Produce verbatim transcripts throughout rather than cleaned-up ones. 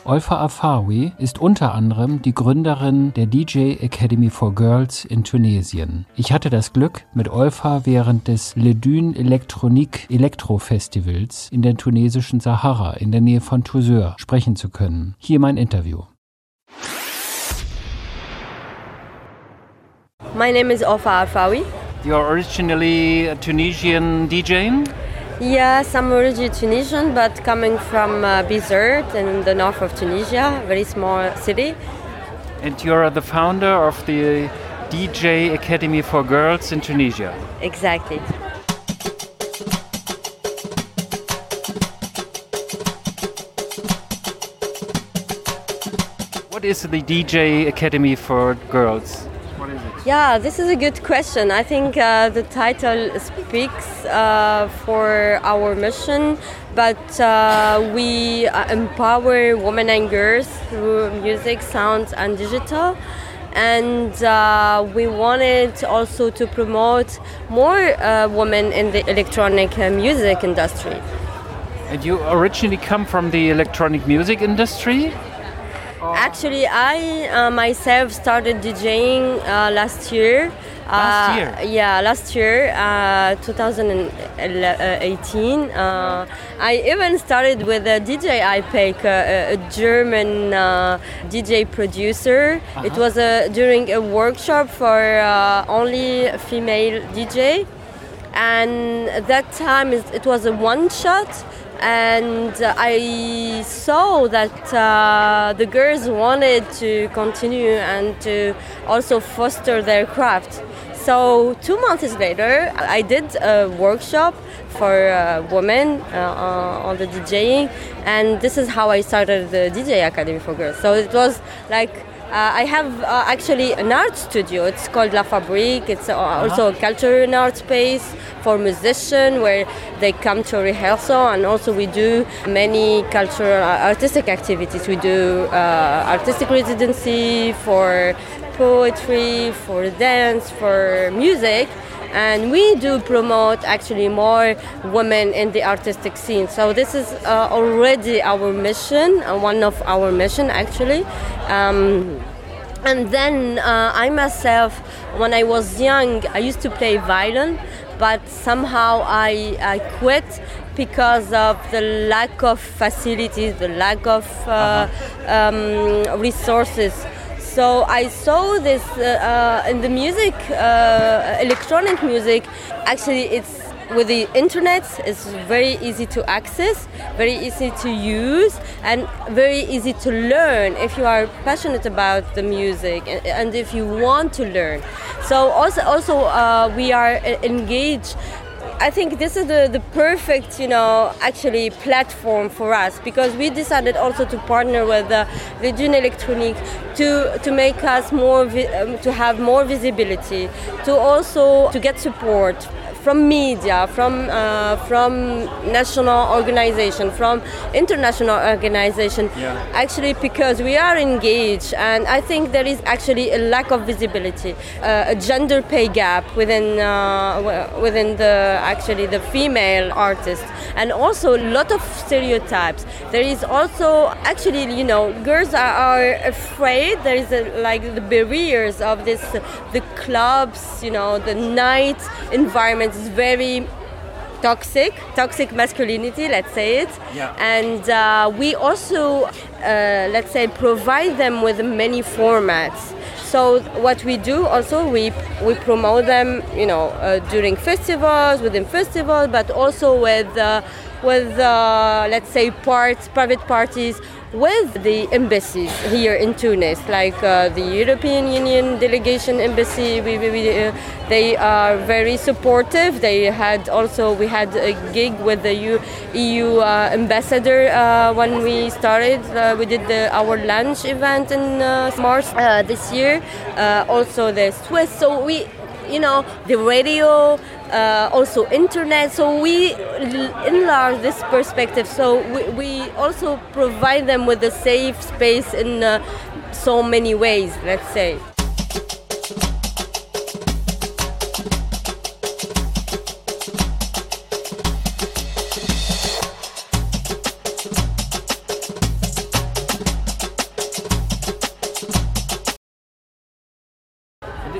Olfa Afawi ist unter anderem die Gründerin der D J Academy for Girls in Tunesien. Ich hatte das Glück, mit Olfa während des Le Dune Electronique Electro Festivals in der tunesischen Sahara in der Nähe von Tozeur sprechen zu können. Hier mein Interview. My name is Olfa Afawi. You're originally a Tunisian DJing? Yes, I'm originally Tunisian, but coming from uh, Bizerte in the north of Tunisia, very small city. And you're the founder of the D J Academy for Girls in Tunisia. Exactly. What is the D J Academy for Girls? What is it? Yeah, this is a good question. I think uh, the title speaks uh, for our mission, but uh, we uh, empower women and girls through music, sound, and digital. And uh, we wanted also to promote more uh, women in the electronic uh, music industry. And you originally come from the electronic music industry? Actually, I uh, myself started DJing uh, last year. Last uh, year? Yeah, last year, uh, twenty eighteen. Uh, I even started with a D J Ipek, a, a German uh, D J producer. Uh-huh. It was a, during a workshop for uh, only female D J. And at that time, it was a one-shot. And I saw that uh, the girls wanted to continue and to also foster their craft. So two months later, I did a workshop for uh, women uh, on the DJing, and this is how I started the D J Academy for Girls. So it was like Uh, I have uh, actually an art studio. It's called La Fabrique. It's uh, also a cultural and art space for musicians where they come to rehearsal, and also we do many cultural uh, artistic activities. We do uh, artistic residency for poetry, for dance, for music. And we do promote actually more women in the artistic scene. So this is uh, already our mission, uh, one of our mission actually. Um, and then uh, I myself, when I was young, I used to play violin, but somehow I, I quit because of the lack of facilities, the lack of uh, uh-huh. um, resources. So I saw this uh, uh, in the music, uh, electronic music. Actually, it's with the internet. It's very easy to access, very easy to use, and very easy to learn if you are passionate about the music and, and if you want to learn. So also, also uh, we are engaged. I think this is the, the perfect, you know, actually platform for us, because we decided also to partner with uh, Le Dune Electronique to to make us more, vi- um, to have more visibility, to also to get support from media, from uh, from national organization, from international organization. Yeah. Actually, because we are engaged, and I think there is actually a lack of visibility, uh, a gender pay gap within uh, within the actually the female artists, and also a lot of stereotypes. There is also actually, you know, girls are, are afraid. There is a, like the barriers of this, the clubs, you know, the night environment is very toxic, toxic masculinity, let's say it. Yeah. And uh, we also, uh, let's say, provide them with many formats. So what we do also, we we promote them, you know, uh, during festivals, within festivals, but also with uh, with uh, let's say parts, private parties, with the embassies here in Tunis, like uh, the European Union delegation embassy. We, we, we, uh, they are very supportive. They had also, we had a gig with the U, E U uh, ambassador uh, when we started. Uh, we did the, our lunch event in uh, March uh, this year. Uh, also the Swiss. So we, you know, the radio, uh, also internet. So we enlarge this perspective. So we, we also provide them with a safe space in uh, so many ways, let's say.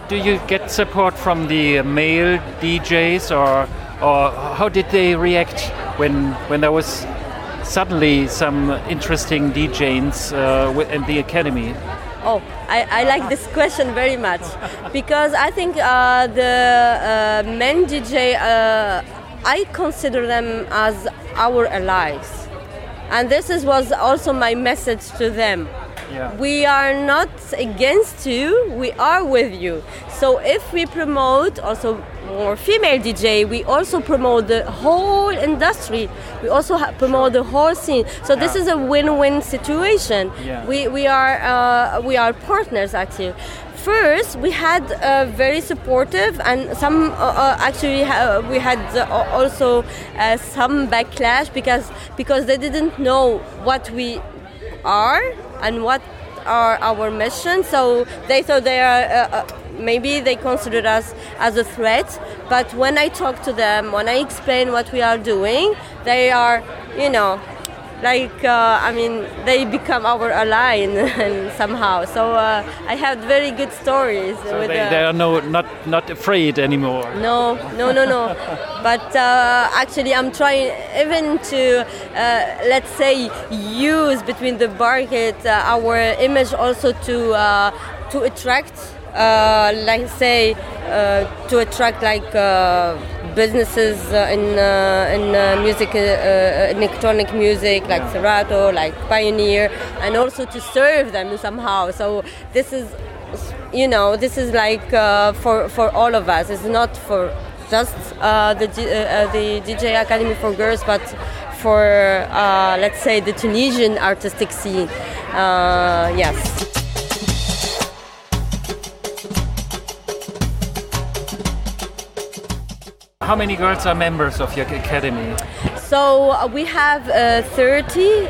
do you get support from the male D Js, or or how did they react when when there was suddenly some interesting D Js uh, in the academy? Oh, I, I like this question very much because I think uh, the uh, men D J, uh, I consider them as our allies. And this is, was also my message to them. Yeah. We are not against you, we are with you. So if we promote also more female D J, we also promote the whole industry. We also ha- promote the whole scene. So yeah. This is a win-win situation. Yeah. We we are uh, we are partners actually. First, we had uh, very supportive, and some uh, uh, actually ha- we had uh, also uh, some backlash because because they didn't know what we are and what are our mission. So they thought they are uh, uh, maybe they considered us as a threat. But when I talk to them, when I explain what we are doing, they are, you know, like uh, I mean, they become our ally in, in somehow. So uh, I have very good stories. So with, they, uh, they are no not not afraid anymore. No, no, no, no. But uh, actually, I'm trying even to uh, let's say use between the market uh, our image also to uh, to attract, uh, like say, uh, to attract like. Uh, businesses uh, in uh, in uh, music, uh, uh, electronic music, like Serato, like Pioneer, and also to serve them somehow. So this is, you know, this is like uh, for for all of us. It's not for just uh, the uh, the D J Academy for Girls, but for uh, let's say the Tunisian artistic scene. Uh, yes. How many girls are members of your academy? So uh, we have uh, thirty,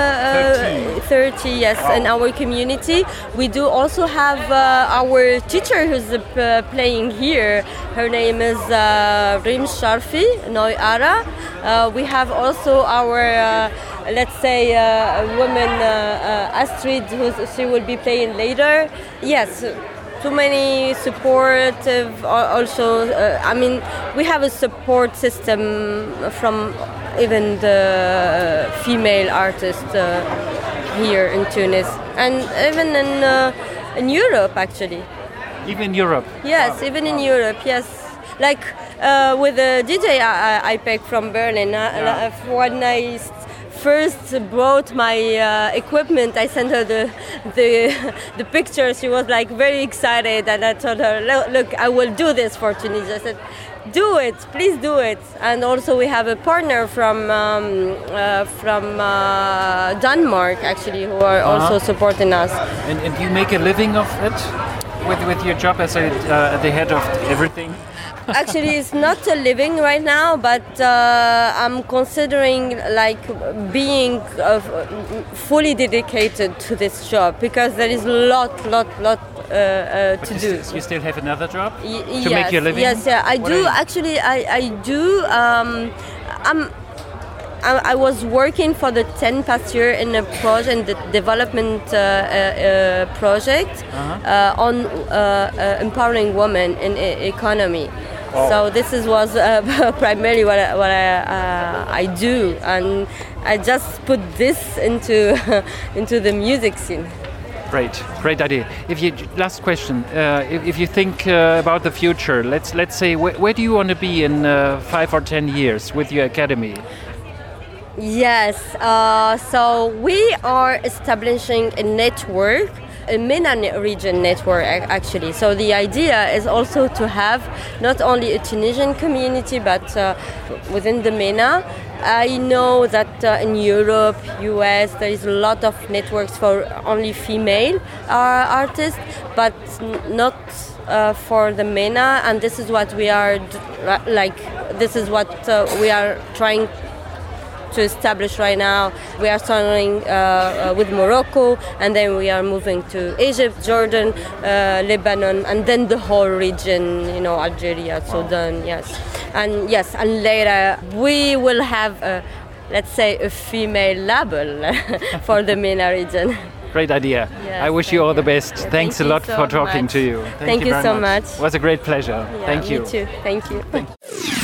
uh, thirty, yes, wow. In our community. We do also have uh, our teacher who's uh, playing here. Her name is uh, Rim Sharfi Noy Ara. Uh, we have also our, uh, let's say, uh, woman uh, uh, Astrid, who she will be playing later. Yes. Too many supportive also uh, I mean we have a support system from even the female artists uh, here in Tunis and even in uh, in Europe actually. Even in Europe? Yes, wow. Even in Europe, yes. Like uh, with the D J I, I picked from Berlin, uh, yeah. When I first brought my uh, equipment, I sent her the the the picture. She was like very excited, and I told her, "Look, I will do this for Tunisia." I said, "Do it, please do it." And also we have a partner from um, uh, from uh, Denmark actually who are uh-huh. also supporting us. And, and you make a living of it with with your job as a, uh, at the head of everything. Actually, it's not a living right now, but uh, I'm considering like being uh, fully dedicated to this job because there is a lot, lot, lot uh, uh, to you do. St- you still have another job y- to yes, make your living? Yes, yeah, I what do. Actually, I, I do. Um, I'm. I was working for the ten past year in a project, the development uh, uh, project uh-huh. uh, on uh, uh, empowering women in e- economy. Oh. So this is was uh, primarily what I, what I, uh, I do, and I just put this into into the music scene. Great, great idea. If you last question, uh, if, if you think uh, about the future, let's let's say wh- where do you want to be in uh, five or ten years with your academy? Yes, uh, so we are establishing a network, a MENA region network actually. So the idea is also to have not only a Tunisian community, but uh, within the MENA. I know that uh, in Europe, U S, there is a lot of networks for only female uh, artists, but n- not uh, for the MENA. And this is what we are d- like. This is what uh, we are trying to establish right now. We are starting uh, uh, with Morocco, and then we are moving to Egypt, Jordan, uh, Lebanon, and then the whole region, you know, Algeria, Sudan, yes. And yes, and later we will have, a, let's say, a female label for the MENA region. Great idea. Yes, I wish you all the best. Yeah, Thanks thank a lot you so for talking much. to you. Thank you very so much. much. It was a great pleasure. Yeah, Thank me you. too. Thank you. Thank you.